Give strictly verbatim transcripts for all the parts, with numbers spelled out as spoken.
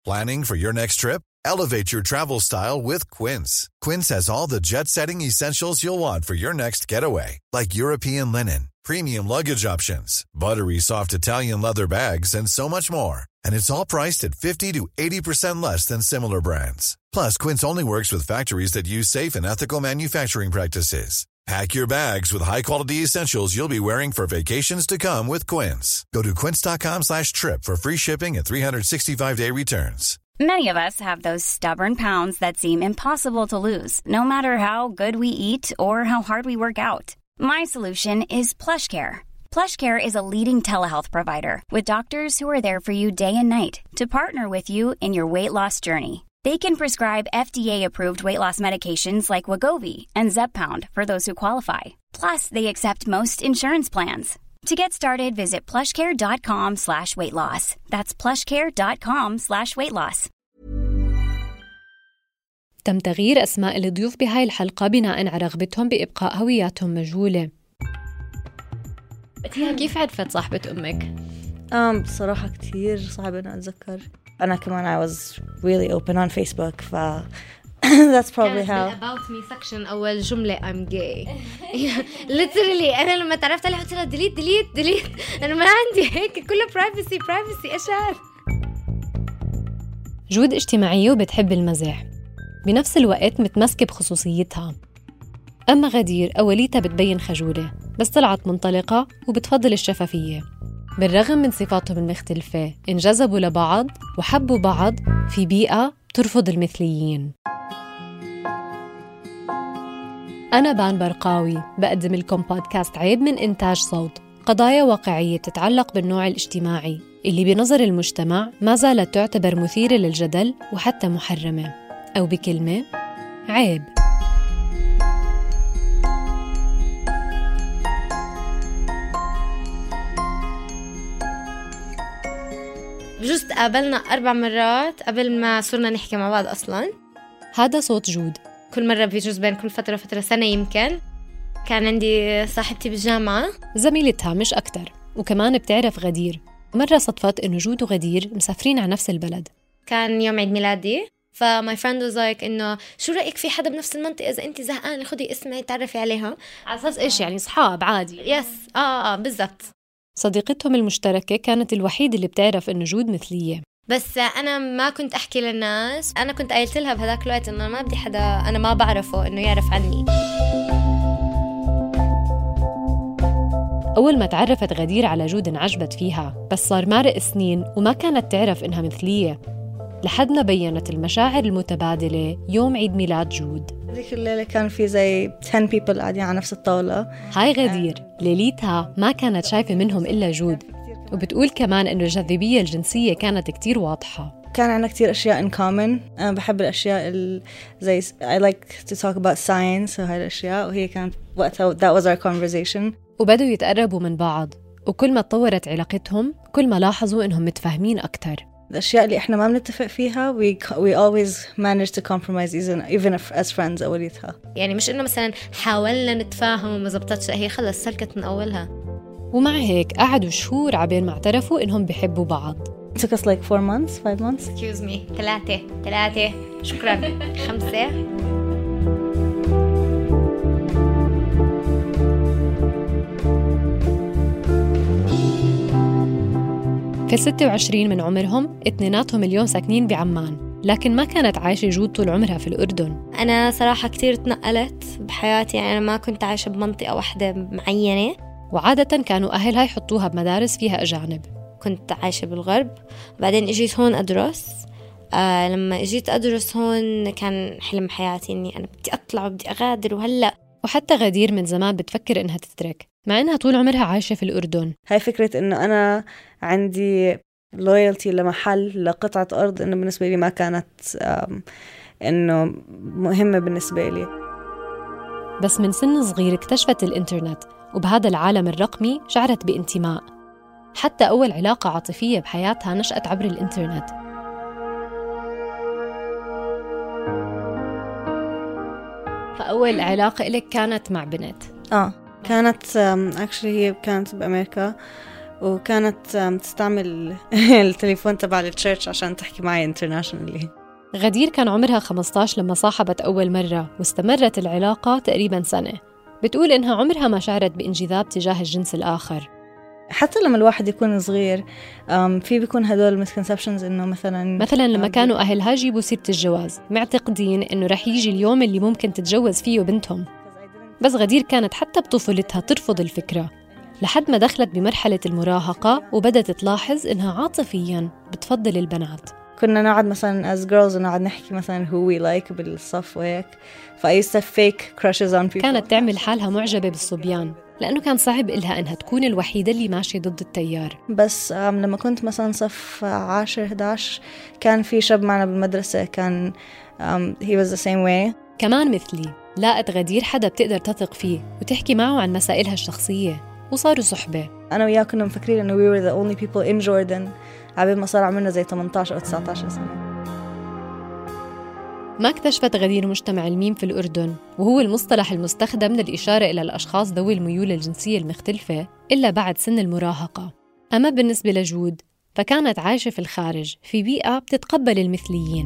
Planning for your next trip? Elevate your travel style with Quince. Quince has all the jet-setting essentials you'll want for your next getaway, like European linen, premium luggage options, buttery soft Italian leather bags, and so much more. And it's all priced at fifty to eighty percent less than similar brands. Plus, Quince only works with factories that use safe and ethical manufacturing practices. Pack your bags with high-quality essentials you'll be wearing for vacations to come with Quince. Go to quince.com slash trip for free shipping and three sixty-five day returns. Many of us have those stubborn pounds that seem impossible to lose, no matter how good we eat or how hard we work out. My solution is PlushCare. PlushCare is a leading telehealth provider with doctors who are there for you day and night to partner with you in your weight loss journey. They can prescribe F D A-approved weight loss medications like Wegovy and Zepbound for those who qualify. Plus, they accept most insurance plans. To get started, visit plushcare.com slash weight loss. That's plushcare.com slash weight loss. تم تغيير أسماء الضيوف بهاي الحلقة بناء على رغبتهم بإبقاء هوياتهم مجهولة. تيها كيف عرفت صاحبة أمك؟ أم بصراحة كتير صعب أن أتذكر. أنا كمان I was really open on Facebook ف that's probably how. About me section أول جملة I'm gay. literally أنا لما تعرفت عليها قلت لها delete delete delete أنا ما عندي هيك كله privacy privacy أشعر. جود اجتماعية وبتحب المزح، بنفس الوقت متمسكة بخصوصيتها. أما غدير أوليتها بتبين خجولة، بس طلعت منطلقة وبتفضل الشفافية. بالرغم من صفاتهم المختلفة انجذبوا لبعض وحبوا بعض في بيئة ترفض المثليين. أنا بان برقاوي بقدم لكم بودكاست عيب من إنتاج صوت، قضايا واقعية تتعلق بالنوع الاجتماعي اللي بنظر المجتمع ما زالت تعتبر مثيرة للجدل وحتى محرمة، أو بكلمة عيب. بجوز تقابلنا أربع مرات قبل ما صرنا نحكي مع بعض أصلاً. هذا صوت جود. كل مرة بيجوز بين كل فترة فترة سنة يمكن. كان عندي صاحبتي بالجامعة زميلتها مش أكتر، وكمان بتعرف غدير. مرة صدفت إنه جود وغدير مسافرين على نفس البلد. كان يوم عيد ميلادي، فماي فريند واز لايك إنه شو رأيك في حدا بنفس المنطقة إذا أنت زهقانة خدي اسمعي تعرفي عليها. على أساس إيش يعني صحاب عادي؟ يس آه آه بالضبط. صديقتهم المشتركة كانت الوحيدة اللي بتعرف إنه جود مثلية، بس أنا ما كنت أحكي للناس. أنا كنت قايلت لها بهذاك الوقت إنه ما بدي حدا أنا ما بعرفه إنه يعرف عني. أول ما تعرفت غدير على جود انعجبت فيها، بس صار مرق سنين وما كانت تعرف إنها مثلية، لحد ما بيّنت المشاعر المتبادلة يوم عيد ميلاد جود. ذيك الليلة كان في زي عشرة people قاعدين على نفس الطاولة. هاي غدير ليلتها ما كانت شايفة منهم إلا جود، وبتقول كمان إنه الجاذبية الجنسية كانت كتير واضحة. كان عنا كتير أشياء in common. أنا بحب الأشياء ال زي I like to talk about science وهاي الأشياء، وهي كانت وقتها that was our conversation. وبدوا يتقربوا من بعض، وكل ما تطورت علاقتهم كل ما لاحظوا إنهم متفاهمين أكتر. الأشياء اللي إحنا ما بنتفق فيها we we always manage to compromise even even if as friends أوليتها. يعني مش إنه مثلا حاولنا نتفاهم وما زبطتش، هي خلص سلكت من أولها. ومع هيك قعدوا شهور عبين ما اعترفوا إنهم بيحبوا بعض. It took us like four months, five months. Excuse me. ثلاثة ثلاثة شكرا. خمسة. في ستة وعشرين من عمرهم اثنيناتهم اليوم ساكنين بعمان، لكن ما كانت عايشة جود طول عمرها في الأردن. أنا صراحة كتير تنقلت بحياتي، يعني أنا ما كنت عايشة بمنطقة واحدة معينة، وعادة كانوا أهلها يحطوها بمدارس فيها أجانب. كنت عايشة بالغرب، بعدين اجيت هون أدرس. آه لما اجيت أدرس هون كان حلم حياتي إني أنا بدي أطلع وبدي أغادر. وهلأ وحتى غدير من زمان بتفكر إنها تترك، مع إنها طول عمرها عايشة في الأردن. هاي فكرة إنه أنا عندي loyalty لمحل لقطعة أرض إنه بالنسبة لي ما كانت إنه مهمة بالنسبة لي. بس من سن صغير اكتشفت الإنترنت، وبهذا العالم الرقمي شعرت بانتماء. حتى أول علاقة عاطفية بحياتها نشأت عبر الإنترنت. فأول علاقة إلك كانت مع بنت؟ آه كانت actually هي كانت بأمريكا، وكانت تستعمل التليفون تبع التشيرش عشان تحكي معي internationally. غدير كان عمرها خمسة عشر لما صاحبت أول مرة، واستمرت العلاقة تقريباً سنة. بتقول إنها عمرها ما شعرت بانجذاب تجاه الجنس الآخر. حتى لما الواحد يكون صغير في بيكون هدول misconceptions إنه مثلاً مثلاً لما كانوا أهلها جيبوا سيرة الجواز معتقدين إنه رح يجي اليوم اللي ممكن تتجوز فيه بنتهم. بس غدير كانت حتى بطفولتها ترفض الفكرة، لحد ما دخلت بمرحلة المراهقة وبدت تلاحظ إنها عاطفياً بتفضل البنات. كنا نقعد مثلا as girls ونقعد نحكي مثلا who we like بالصف وهيك. ف I used to fake crushes on people. كانت تعمل حالها معجبة بالصبيان لأنه كان صعب إلها إنها تكون الوحيدة اللي ماشية ضد التيار. بس لما كنت مثلا صف عاشر إحدى عشر كان في شاب معنا بالمدرسة كان um, he was the same way. كمان مثلي لاقت غدير حدا بتقدر تثق فيه وتحكي معه عن مسائلها الشخصية، وصاروا صحبة. أنا وياه كنا مفكرين إنه we were the only people in Jordan عبين ما صار عمرنا زي ثمانية عشر أو تسعة عشر سنة. ما اكتشفت غدير مجتمع الميم في الأردن، وهو المصطلح المستخدم للإشارة إلى الأشخاص ذوي الميول الجنسية المختلفة، إلا بعد سن المراهقة. أما بالنسبة لجود فكانت عايشة في الخارج في بيئة بتتقبل المثليين.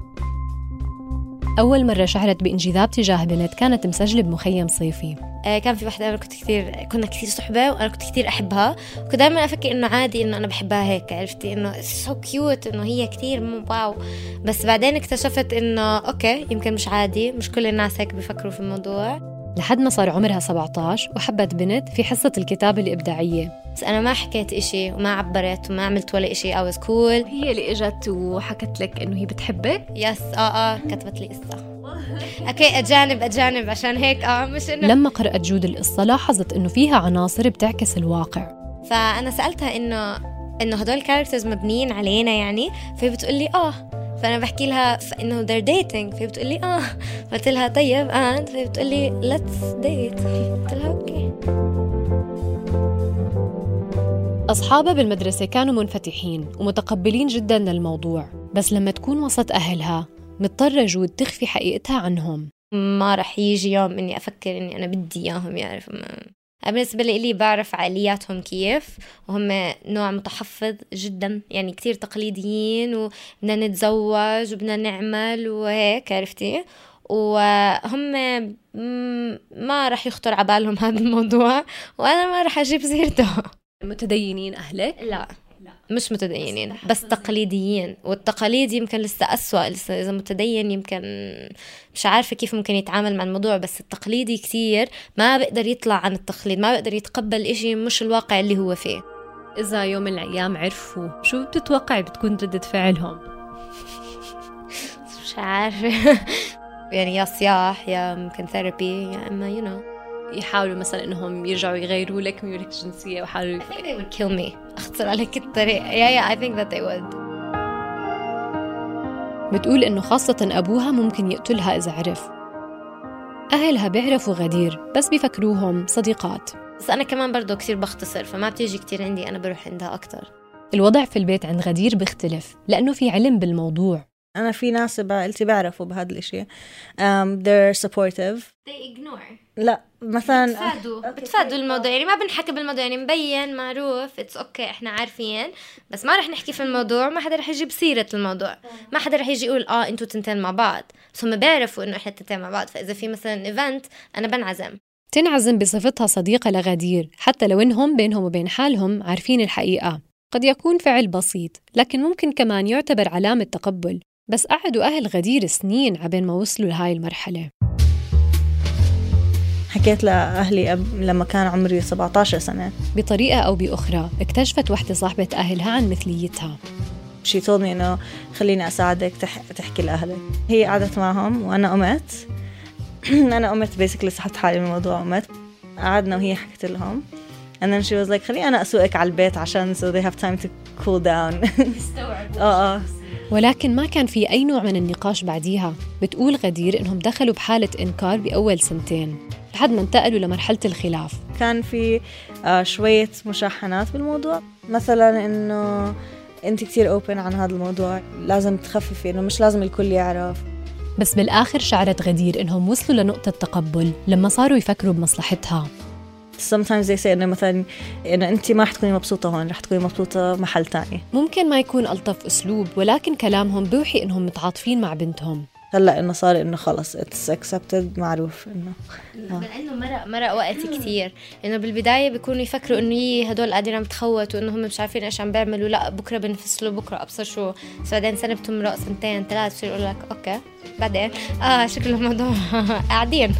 أول مرة شعرت بانجذاب تجاه بنت كانت مسجلة بمخيم صيفي. آه كان في واحدة أنا كنت كثير كنا كثير صحبة وأنا كنت كثير أحبها، وكنت دائما أفكر إنه عادي إنه أنا بحبها هيك، عرفتي إنه so cute إنه هي كثير مو واو. بس بعدين اكتشفت إنه أوكي يمكن مش عادي، مش كل الناس هيك بيفكروا في الموضوع. لحد ما صار عمرها سبعة عشر وحبت بنت في حصة الكتابة الإبداعية. بس أنا ما حكيت إشي وما عبرت وما عملت ولا إشي. I was cool. هي اللي إجت وحكت لك إنه هي بتحبك؟ يس آه آه كتبت لي قصة. أوكي أجانب أجانب عشان هيك آه مش إنه. لما قرأت جود القصة لاحظت إنه فيها عناصر بتعكس الواقع. فأنا سألتها إنه إنه هدول الكاركترز مبنيين علينا يعني، فهي بتقولي آه. فأنا بحكي لها إنه they're dating، فهي بتقولي آه. قلت لها طيب آه، فهي بتقولي let's date. قلت لها أوكي. أصحابها بالمدرسة كانوا منفتحين ومتقبلين جداً للموضوع، بس لما تكون وسط أهلها مضطرة جود تخفي حقيقتها عنهم. ما رح يجي يوم إني أفكر إني أنا بدي إياهم يعرف. بالنسبة لي بعرف عقلياتهم كيف، وهم نوع متحفظ جدا يعني كتير تقليديين، وبدنا نتزوج وبدنا نعمل وهيك عرفتي، وهم ما رح يخطر عبالهم هذا الموضوع، وأنا ما رح أجيب سيرته. متدينين أهلك؟ لا مش متدينين بس تقليديين، والتقاليد يمكن لسه أسوأ. لسه إذا متدين يمكن مش عارفة كيف ممكن يتعامل مع الموضوع، بس التقليدي كتير ما بقدر يطلع عن التقليد، ما بقدر يتقبل إشي مش الواقع اللي هو فيه. إذا يوم من الأيام عرفوا شو بتتوقعي بتكون ردة فعلهم؟ مش عارفة يعني يا صياح يا ممكن ثيرابي يا إما you know يحاولوا مثلا إنهم يرجعوا يغيروا لك ميولك الجنسية ويحاولوا. I think they would kill me. أختصر عليك الطريق. yeah yeah I think that they would. بتقول إنه خاصة أبوها ممكن يقتلها إذا عرف. أهلها بيعرفوا غدير بس بيفكروهم صديقات. بس أنا كمان برضو كتير بختصر، فما بتيجي كتير عندي، أنا بروح عندها أكتر. الوضع في البيت عند غدير بيختلف لأنه في علم بالموضوع. أنا في ناس بعائلتي بعرفوا بهذا الإشي. um, they're supportive. they ignore. لا مثلا بتفادوا بتفادوا الموضوع، يعني ما بنحكي بالموضوع، يعني مبين معروف اتس اوكي okay. احنا عارفين بس ما رح نحكي في الموضوع، ما حدا رح يجيب سيرة الموضوع، ما حدا رح يجي يقول اه انتوا تنتين مع بعض، بس هم بيعرفوا انه احنا تنتين مع بعض. فاذا في مثلا ايفنت انا بنعزم. تنعزم بصفتها صديقة لغدير حتى لو انهم بينهم وبين حالهم عارفين الحقيقة. قد يكون فعل بسيط لكن ممكن كمان يعتبر علامة تقبل. بس قعدوا أهل غدير سنين عبين ما وصلوا لهاي المرحلة. حكيت لأهلي أب لما كان عمري سبعة عشر سنة. بطريقة أو بأخرى اكتشفت واحدة صاحبة أهلها عن مثليتها. She told me إنه خليني أساعدك تح... تحكي لأهلك. هي قعدت معهم وأنا قمت أنا قمت basically سحبت حالي من الموضوع قمت. قعدنا وهي حكت لهم and then she was like خليني أنا أسوقك على البيت عشان so they have time to cool down. آه آه ولكن ما كان في أي نوع من النقاش بعديها. بتقول غدير إنهم دخلوا بحالة إنكار بأول سنتين لحد ما انتقلوا لمرحلة الخلاف. كان في آه شوية مشاحنات بالموضوع، مثلا إنه أنت كتير open عن هذا الموضوع، لازم تخففي، إنه مش لازم الكل يعرف. بس بالآخر شعرت غدير إنهم وصلوا لنقطة تقبل لما صاروا يفكروا بمصلحتها. sometimes they say إنه مثلا إنه أنت ما رح تكوني مبسوطة هون، رح تكوني مبسوطة محل تاني. ممكن ما يكون ألطف أسلوب، ولكن كلامهم بيوحي إنهم متعاطفين مع بنتهم. هلا إنه صار إنه خلص it's accepted، معروف إنه لأنه مرق مرق وقت كتير. إنه بالبداية بيكونوا يفكروا إنه يي هدول قاعدين عم تخوتوا وإنه هم مش عارفين إيش عم بيعملوا، لا بكرة بنفصلوا، بكرة أبصر شو. بعدين سنة بتمرق، سنتين ثلاث، بصير يقول لك أوكي بعدين آه شكله الموضوع قاعدين.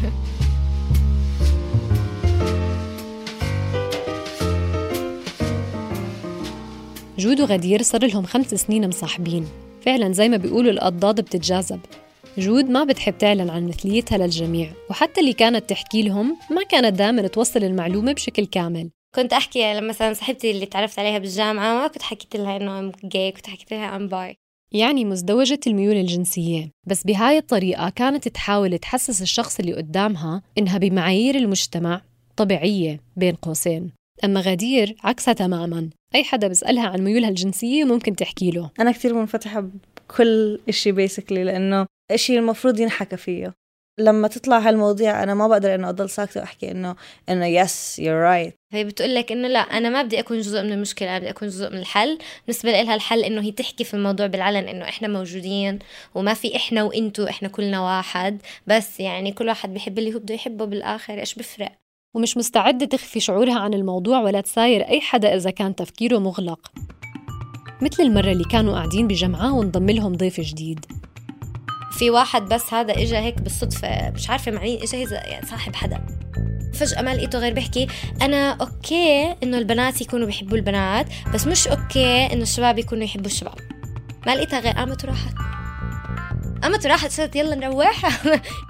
جود وغدير صار لهم خمس سنين مصاحبين. فعلا زي ما بيقولوا الأضداد بتتجاذب. جود ما بتحب تعلن عن مثليتها للجميع، وحتى اللي كانت تحكي لهم ما كانت دائما توصل المعلومة بشكل كامل. كنت أحكي لما مثلا صاحبتي اللي تعرفت عليها بالجامعة ما كنت حكيت لها إنه أم جاي، كنت حكيت لها أم باي، يعني مزدوجة الميول الجنسية. بس بهاي الطريقة كانت تحاول تحسس الشخص اللي قدامها إنها بمعايير المجتمع طبيعية بين قوسين. أما غدير عكسها تماماً، أي حدا بسألها عن ميولها الجنسية ممكن تحكي له. أنا كتير منفتحة بكل إشي بيسكلي، لأنه إشي المفروض ينحكى فيه. لما تطلع هالمواضيع أنا ما بقدر إنه أضل ساكتة وأحكي إنه إنه yes you're right. هي بتقول لك إنه لا أنا ما بدي أكون جزء من المشكلة، أنا بدي أكون جزء من الحل. بالنسبة لها الحل إنه هي تحكي في الموضوع بالعلن، إنه إحنا موجودين وما في إحنا وإنتو، إحنا كلنا واحد، بس يعني كل واحد بيحب اللي هو بده يحبه بالآخر، إيش بفرق. ومش مستعدة تخفي شعورها عن الموضوع ولا تساير أي حدا إذا كان تفكيره مغلق. مثل المرة اللي كانوا قاعدين بجمعة وانضم لهم ضيف جديد. في واحد بس هذا إجا هيك بالصدفة، مش عارفة معين إجا هذا يعني صاحب حدا، فجأة ما لقيته غير بيحكي أنا أوكي إنه البنات يكونوا بيحبوا البنات، بس مش أوكي إنه الشباب يكونوا يحبوا الشباب. ما لقيتها غير قامت وراحت، قامت وراحت صارت يلا نروح.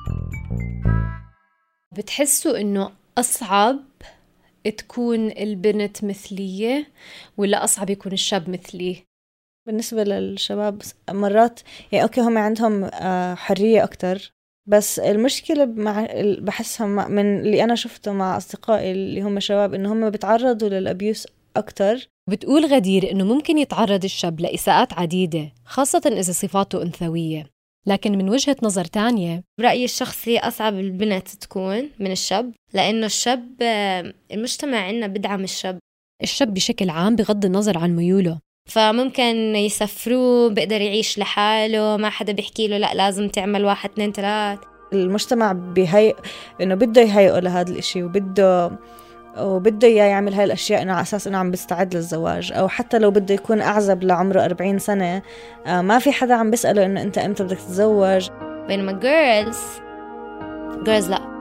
بتحسوا إنه أصعب تكون البنت مثلية ولا أصعب يكون الشاب مثلي؟ بالنسبة للشباب مرات يعني أوكي هم عندهم حرية أكتر، بس المشكلة مع بحسها من اللي أنا شفته مع أصدقائي اللي هم شباب إنه هم بيتعرضوا للأبيوس أكتر. بتقول غدير إنه ممكن يتعرض الشاب لإساءات عديدة، خاصة إذا صفاته أنثوية. لكن من وجهة نظر تانية برأيي الشخصي أصعب البنت تكون من الشاب، لأنه الشاب المجتمع عنا بدعم الشاب. الشاب بشكل عام بغض النظر عن ميوله، فممكن يسفروه، بيقدر يعيش لحاله، ما حدا بيحكي له لا لازم تعمل واحد اثنين ثلاث. المجتمع بيهيئ إنه بده يهيئه لهذا الإشي، وبده وبده إياه يعمل هاي الأشياء إنه على أساس إنه عم بيستعد للزواج، أو حتى لو بده يكون أعزب لعمره أربعين سنة ما في حدا عم بيسأله إنه أنت إمتى بدك تتزوج. بينما girls girls لا.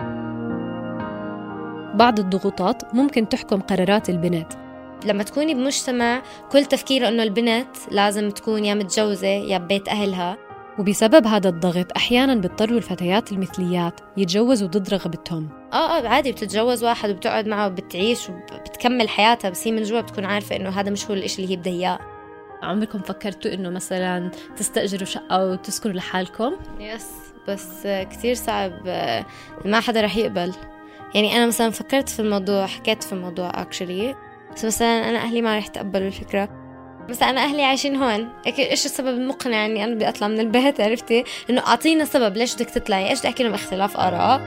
بعض الضغوطات ممكن تحكم قرارات البنت. لما تكوني بمجتمع كل تفكيره إنه البنت لازم تكون يا متجوزة يا ببيت أهلها، وبسبب هذا الضغط أحياناً بيضطروا الفتيات المثليات يتجوزوا ضد رغبتهم. آه آه عادي بتتجوز واحد وبتقعد معه وبتعيش وبتكمل حياتها، بس هي من جوا بتكون عارفة إنه هذا مش هو الإشي اللي هي بدها إياه. عمركم فكرتوا إنه مثلاً تستأجروا شقة وتسكنوا لحالكم؟ يس، بس كتير صعب، ما حدا رح يقبل. يعني أنا مثلاً فكرت في الموضوع، حكيت في الموضوع actually، بس مثلاً أنا أهلي ما رح يتقبلوا الفكرة. مثلا أنا أهلي عايشين هون، إيش السبب المقنع إني أنا بدي أطلع من البيت؟ عرفتي إنه أعطينا سبب ليش بدك تطلعي، إيش بدي أحكي لهم؟ اختلاف آراء.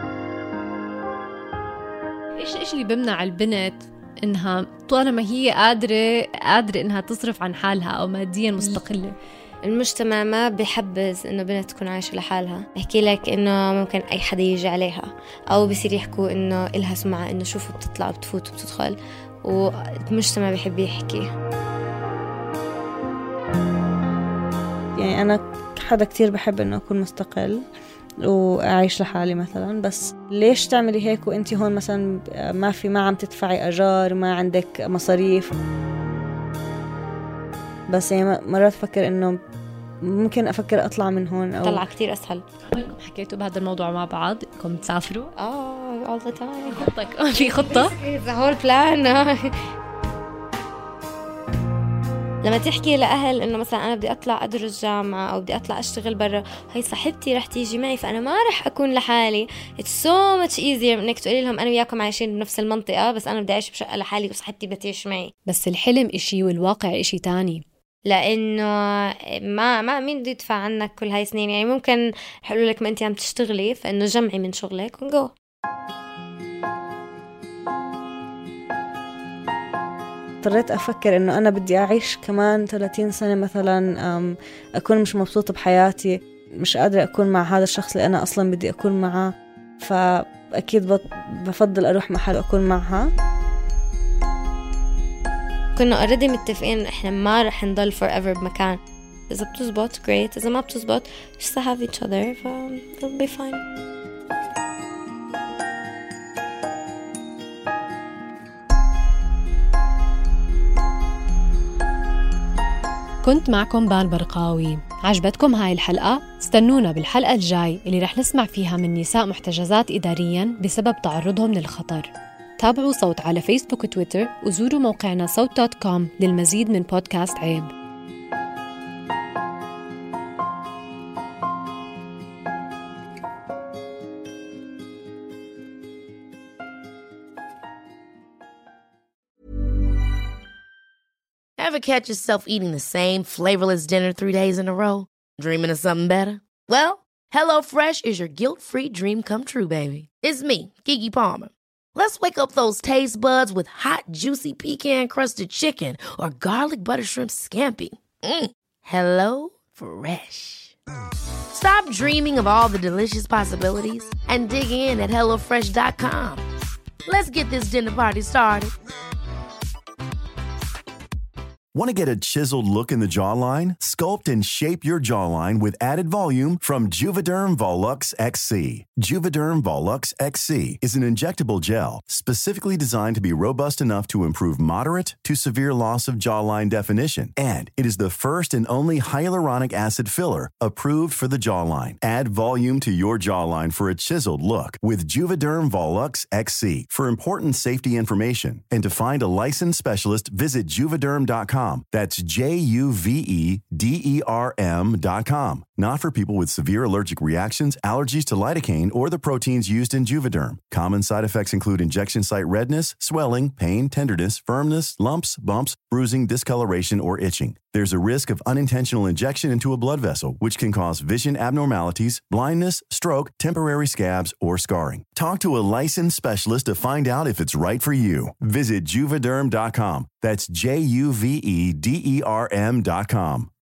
إيش إيش اللي بمنع البنت إنها طالما هي قادرة قادرة إنها تصرف عن حالها أو ماديا مستقلة؟ المجتمع ما بيحبذ إنه بنت تكون عايشة لحالها. يحكي لك إنه ممكن أي حدا يجي عليها، أو بيصير يحكوا إنه إلها سمعة إنه شوفوا بتطلع وبتفوت وبتدخل، والمجتمع بيحب يحكي. يعني أنا حدا كتير بحب إنه أكون مستقل وأعيش لحالي مثلا، بس ليش تعملي هيك وإنتي هون مثلا ما في ما عم تدفعي أجار، ما عندك مصاريف؟ بس يعني مرات أفكر إنه ممكن أفكر أطلع من هون أو طلع كتير أسهل. عمركم حكيتوا بهذا الموضوع مع بعض؟ إنكم تسافروا؟ آه all the time. خطك في خطة؟ the whole plan. لما تحكي لأهل إنه مثلا أنا بدي أطلع أدرس جامعة أو بدي أطلع أشتغل برا، هاي صاحبتي رح تيجي معي فأنا ما رح أكون لحالي. It's so much easier إنك تقولي لهم أنا وياكم عايشين بنفس المنطقة، بس أنا بدي أعيش بشقة لحالي وصاحبتي بدها تعيش معي. بس الحلم إشي والواقع إشي تاني، لأنه ما ما مين بده يدفع عنك كل هاي سنين. يعني ممكن يقولوا لك ما أنت عم تشتغلي، فإنه جمعي من شغلك ونجو. اضطريت أفكر إنه أنا بدي أعيش كمان ثلاثين سنة مثلا، أكون مش مبسوطة بحياتي، مش قادرة أكون مع هذا الشخص اللي أنا أصلا بدي أكون معه، فأكيد بفضل أروح محل أكون معها. كنا already متفقين إحنا ما رح نضل forever بمكان. إذا بتزبط great، إذا ما بتزبط just to have each other ف it'll be fine. كنت معكم بال برقاوي. عجبتكم هاي الحلقة؟ استنونا بالحلقة الجاي اللي رح نسمع فيها من نساء محتجزات إدارياً بسبب تعرضهم للخطر. تابعوا صوت على فيسبوك وتويتر وزوروا موقعنا صوت دوت كوم للمزيد من بودكاست عيب. Ever catch yourself eating the same flavorless dinner three days in a row? Dreaming of something better? Well, HelloFresh is your guilt-free dream come true, baby. It's me, Keke Palmer. Let's wake up those taste buds with hot, juicy pecan-crusted chicken or garlic butter shrimp scampi. Mm. Hello Fresh. Stop dreaming of all the delicious possibilities and dig in at hello fresh dot com. Let's get this dinner party started. Want to get a chiseled look in the jawline? Sculpt and shape your jawline with added volume from Juvederm Volux X C. Juvederm Volux X C is an injectable gel specifically designed to be robust enough to improve moderate to severe loss of jawline definition. And it is the first and only hyaluronic acid filler approved for the jawline. Add volume to your jawline for a chiseled look with Juvederm Volux X C. For important safety information and to find a licensed specialist, visit juvederm dot com. That's J U V E D E R M dot com. Not for people with severe allergic reactions, allergies to lidocaine, or the proteins used in Juvederm. Common side effects include injection site redness, swelling, pain, tenderness, firmness, lumps, bumps, bruising, discoloration, or itching. There's a risk of unintentional injection into a blood vessel, which can cause vision abnormalities, blindness, stroke, temporary scabs, or scarring. Talk to a licensed specialist to find out if it's right for you. Visit Juvederm dot com. That's J U V E D E R M dot com.